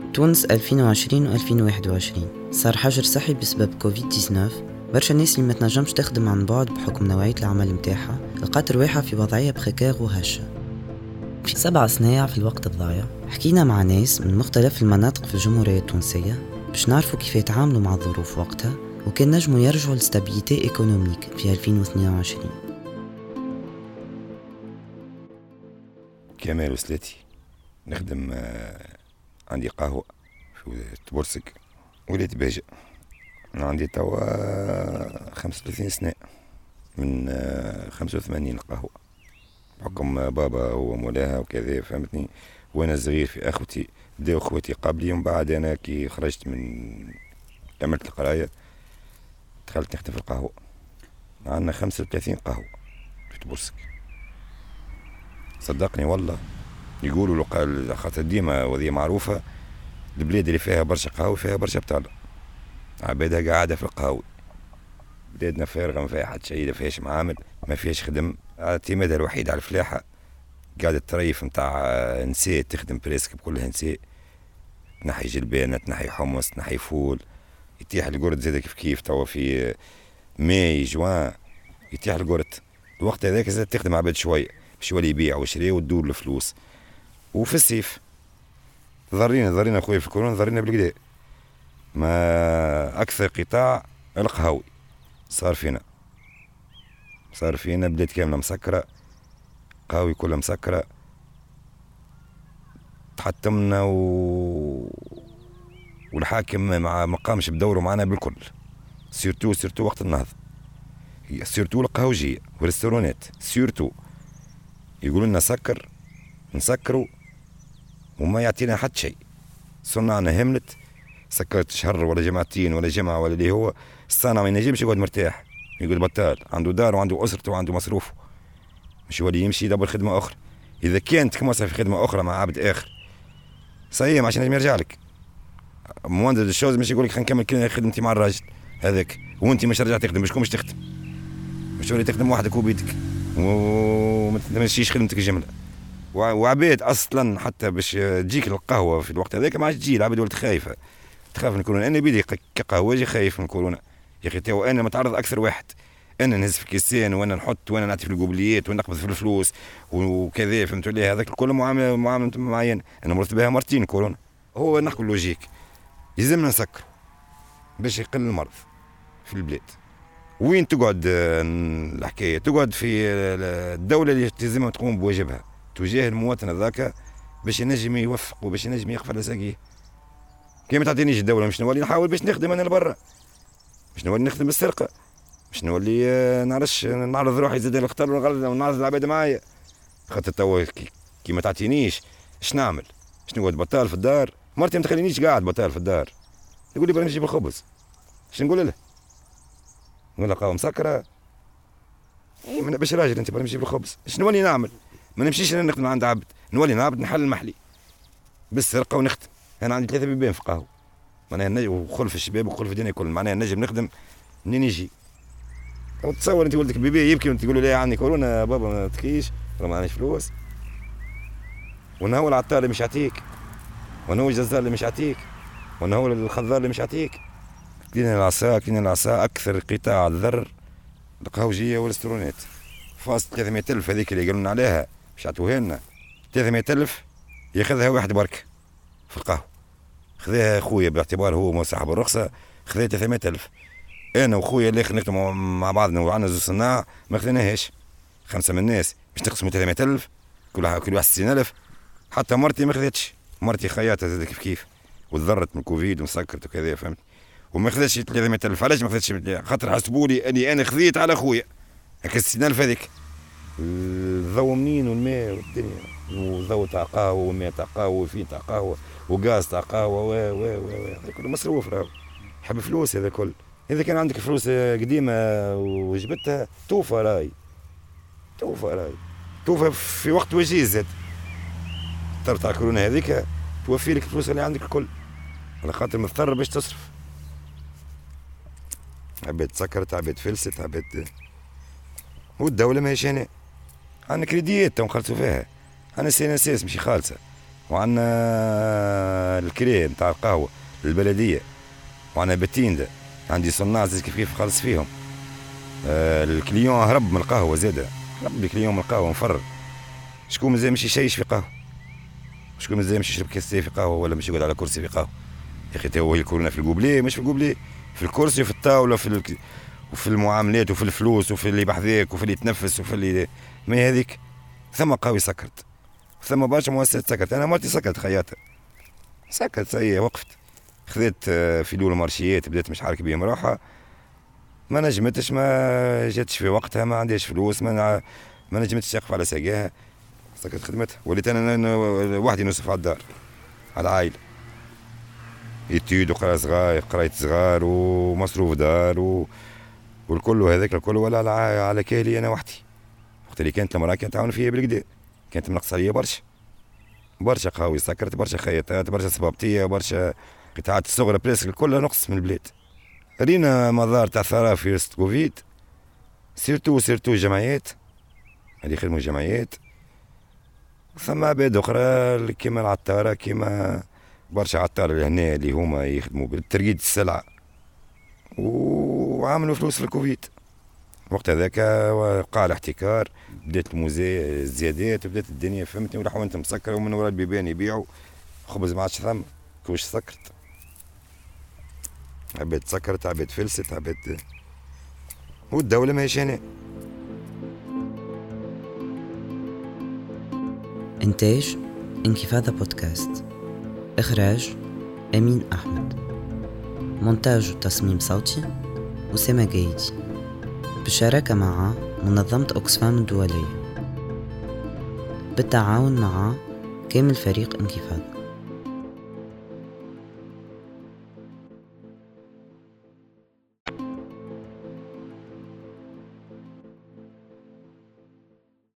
تونس 2020 و2021 صار حجر صحي بسبب كوفيد-19. برشا الناس اللي ما تنجمش تخدم عن بعد بحكم نوعية العمل متاعها لقات رواحها في وضعية بريكير وهشة. في 7 صنايع في الوقت الضايع حكينا مع ناس من مختلف المناطق في الجمهورية التونسية باش نعرفوا كيف يتعاملوا مع الظروف وقتها وكان نجموا يرجعوا لستابيليتي ايكونوميك في 2022. كمال وسلاتي نخدم عندي قهوة في تبورسك وليت باجة. عندي توا 35 سنة من 85 القهوة بحكم بابا هو مولاها وكذا فهمتني. وانا صغير في اخوتي بداو اخوتي قبلي ومن بعد انا كي خرجت من عملت القراية دخلت نخدم في القهوة. عندنا 35 قهوة في تبورسك صدقني والله. يقولوا له خاطر ديما وذي معروفة البلاد اللي فيها برشا قهوة فيها برشا بطالة عبادها قاعدة في القهوة. بلادنا فارغة ما فيها حد شيء ما فيهاش معامل ما فيهاش خدم. اعتمادها الوحيد على الفلاحة قاعدة تريف متاع نساء تخدم بريسك بكلها نساء. تنحي جلبانة تنحي حمص تنحي فول يتيح القرد زاد كيف توا في ماي جوان يتيح القرد الوقت هذاك زاد تخدم عباد شوية باش يولي يبيع ويشري وتدور الفلوس. وفي الصيف ضرينا اخويا في الكورونا ضرينا بالكدا. ما اكثر قطاع القهوي صار فينا بلاد كامله مسكره قهوي كلها مسكره. تحتمنا والحاكم ما قامش بدوره معنا بالكل. سيرتو وقت النهضه سيرتو القهوجيه والريستورانات سيرتو يقولوا لنا نسكروا وما يعطينا حد شيء. صنعنا هملت سكرت شهر ولا جمعتين ولا جمعة ولا اللي هو الصانع ما ينجمش يقعد مرتاح يقول بطال عنده دار وعنده أسرته وعنده مصروفه مش يولي يمشي يدبر خدمة أخرى. إذا كانت كمصر في خدمة أخرى مع عبد آخر صحيح عشان ينجم يرجع لك مهندس الشوز مش يقول لك خلينا نكمل كلنا خدمتي مع الراجل هذاك وانت مش رجع تخدم مش تخدم مش تولي تخدم وحدك وبيتك وما تمشيش خدمتك جملة. وعبيد اصلا حتى باش تجيك القهوه في الوقت هذاك ما عادش تجي العباد ولات خايفه تخاف من كورونا. انا بيدي كقهوجي خايف من كورونا يا اخي. تو انا متعرض اكثر واحد انا نهز في كيسين وانا نحط وانا نعطي في القبليات وانا نقبض في الفلوس وكذا فهمت لي. هذاك الكل معامله معينه انا مرت بها مرتين كورونا. هو نحكي لوجيك يلزمنا نسكر باش يقل المرض في البلاد. وين تقعد الحكايه تقعد في الدوله اللي تلزمها تقوم بواجبها تجاه المواطن هذاك باش ينجم يوفق وباش ينجم يقف على ساقيه. كي ما تعطينيش الدوله مش نولي نحاول باش نخدم انا لبرا مش نولي نخدم بالسرقه مش نولي نعرفش نعرض روحي زاد الخطر والغلط ونعرض العباد معايا. خاطر توا كي ما تعطينيش اش نعمل؟ باش نقعد بطال في الدار؟ مرتي ما تخلينيش قاعد بطال في الدار تقول لي بغي نجيب الخبز اش نقول لها؟ نقول لها قهوه مسكره باش راجل انت بغي نجيب الخبز اش نولي نعمل؟ ما نمشيش انا نخدم عند عبد نولي نعبد نحل المحلي بالسرقه ونخدم. انا عندي 3 بيبان في قهوه معناها نجم وخلف الشباب وخلف الدنيا كل معناها نجم نخدم منين يجي. تصور انت ولدك بيبي يبكي وانت تقول له لا عندي كورونا بابا ما تكيش ولا ما عنديش فلوس. وانا هو العطار اللي مش يعطيك وانا هو الجزار اللي مش يعطيك وانا هو الخضار اللي مش يعطيك. كلينا العصا اكثر قطاع الضر القهوجيه والريستورانات. فاصل 300,000 هذيك اللي قالوا لنا عليها مش عطوها لنا 300,000 ياخذها واحد برك في القهوه. خذاها خويا باعتبار هو صاحب الرخصه خذا 300,000. انا وخويا اللي نخدموا مع بعضنا وعندنا زوج صناع ما خذيناهاش. 5 من الناس باش تقسموا 300,000 كل واحد 60,000. حتى مرتي ما خذتش مرتي خياطه زاد كيف وتضرت من الكوفيد ومسكرت وكذا فهمت وما خذتش 300,000. علاش ما خذتش؟ خاطر حسبوا لي اني انا خذيت على خويا هكا 60,000 هذيك. الضوء منين والماء والدنيا وضوء تاع قهوه والماء تاع قهوه وفين تاع قهوه وغاز تاع قهوه هذا كله مصروف راهو حب فلوس. هذا كل اذا كان عندك فلوس قديمه وجبتها توفى في وقت وجيز زاد تاع كورونا هذيك توفي لك الفلوس اللي عندك الكل على خاطر مضطر باش تصرف. عباد سكرت عباد فلست عباد والدولة ماهيش هنا. عندنا كريديات تو نخلصوا فيها. عندنا سي ان اس اس ماشي خالصة وعندنا الكريه نتاع القهوه للبلديه، وعندنا بتيندا عندي صناع زي كيف خلص فيهم. الكليون هرب من القهوه زاده، هرب الكليون من القهوه مفرر. شكون مازال مش يشيش في قهوه؟ شكون مازال مش يشرب كاسيه في قهوه ولا مش يقعد على كرسي في قهوه؟ يا اخي هو الكورونا في القبليه، مش في القبليه، في الكرسي وفي الطاوله وفي المعاملات وفي الفلوس وفي اللي بحذاك وفي اللي يتنفس وفي اللي ما هذيك. ثم قهوه سكرت، ثم برشا مؤسسات سكرت. انا مرتي سكرت خياطه، سكرت هي وقفت، خذيت في دول مارشيات بدات مش عارف بيهم روحها، ما نجمتش، ما جاتش في وقتها، ما عنديش فلوس، ما نجمتش تقف على ساقاها، سكرت خدمتها. وليت انا وحدي نصف على الدار، على العائله، يتيد قراية صغار ومصروف دار والكل هذاك الكل، ولا على كاهلي انا وحدي. وقت اللي كانت المراه كانت تعاون فيا بالكدا، كانت منقصه عليا برشا قهوي سكرت، برشا خياطات، برشا صبابطيه، برشا قطاعات الصغرى، بريسك كلها نقص من البلاد. رينا مظاهر تاع ثراء في وسط كوفيد، سيرتو جمعيات، هذه خدموا الجمعيات. ثم عباد اخرى كيما العطاره، كيما برشا عطار لهنا اللي هما يخدموا بالترقيد السلعه وعملوا فلوس في الكوفيد. وقت هذاك وقع الاحتكار، بدات الموزي الزيادات، وبدات الدنيا فهمتني، والحوانت مسكره ومن وراء البيبان يبيعوا خبز ما عادش ثم، كوش سكرت، عباد سكرت، عباد فلست، عباد، والدوله ماهيش هنا. إنتاج انكفاضة بودكاست، إخراج أمين أحمد، مونتاج وتصميم صوتي أسامة جايدي، بالشراكة مع منظمة أوكسفام الدولية، بالتعاون مع كامل فريق انكفاضة.